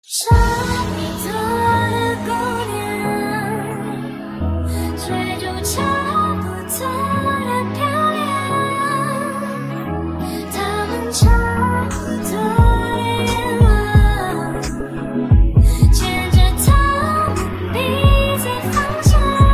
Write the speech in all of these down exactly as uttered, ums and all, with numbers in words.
差不多的姑娘，追逐差不多的漂亮，她们差不多的愿望，牵着她们彼此方向。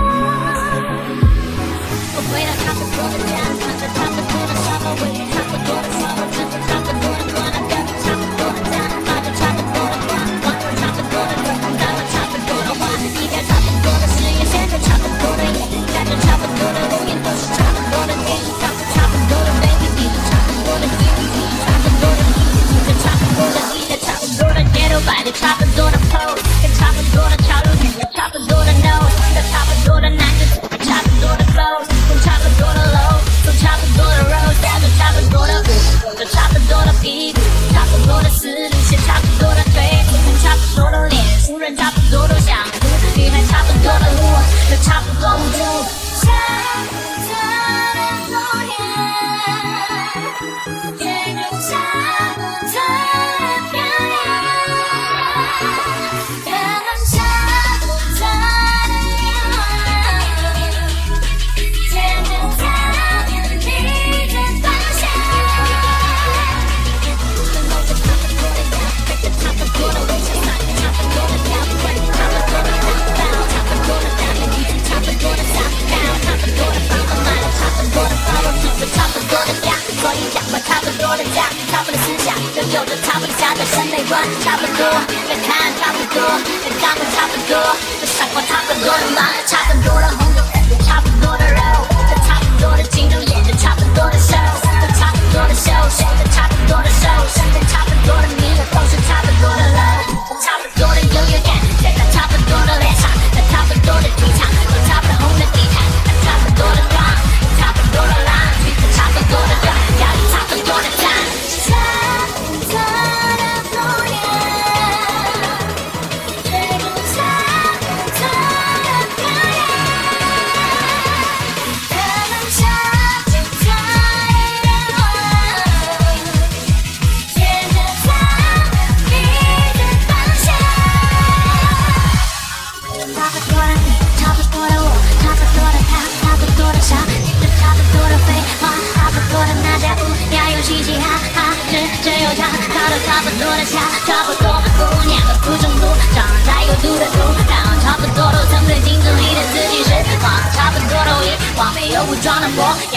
我回到差不多的家，穿着差不多的沙发，围着差不多的沙发，穿着差不多的光，跟着差不多的家，拿着差不多的花，往着差不多的路，咱们差不多的话，一条差不多的事业线，着差不多的眼，看着差不多的路，也都是差不多的电影，唱着差不多的 baby， 听着差不多的音乐，差不多的音乐，听着差不多的音乐，差不多的街头摆着差不多的 pose， 跟差不多的潮流，听着差不多的 nose， 跟差不多的男子，差不多的 flows， 跟差不多的 low， 走差不多的 road， 带着差不多的舞，走差不多的屁股，差不多的思路，写差不多的腿，跟差不多的脸，无人差不多都想哭，女孩差不多的路，有差不多无助。差不多的姑娘，追逐差不多的漂亮，她们差不多的愿望，牵着她们彼此方向。跟着差不多的样，背着差不多的微笑，唱着差不多的调，玩着差不多的舞蹈，差不多的打扮，一起差不多的撒娇，差不多的房子，买了差不多的包包，住着差不多的家，所以讲话差不多的价，差不多的思想，又有着差不多下的审美观，差不多的看差不多，的干部差不多，的生活差不多的忙，差不多的红酒，差不多的肉，的差不多的竞争，演着差不多的 show， 的差不多的秀，秀的差不多的瘦，身边差不多的你，都是差不多的 low， 差不多的优越感，在那差不多的脸上，在差不多的剧场，有差不多红的地毯，差不多的妆，差不多的浪，去着差不多的歌，要有差不多的赞。差不多的姑娘，追逐差不多的漂亮，她们差不多的愿望，牵着她们彼此方向。差不多的你，差不多的我，差不多的他，差不多的傻，听着差不多的废话，差不多的那家伙，要有嘻嘻哈哈，只只有他，他都差不多的家，差不多的姑娘和不中毒，长在有毒的毒，然后差不多都曾对镜子里的自己失望，差不多的我，完美又武装的模样。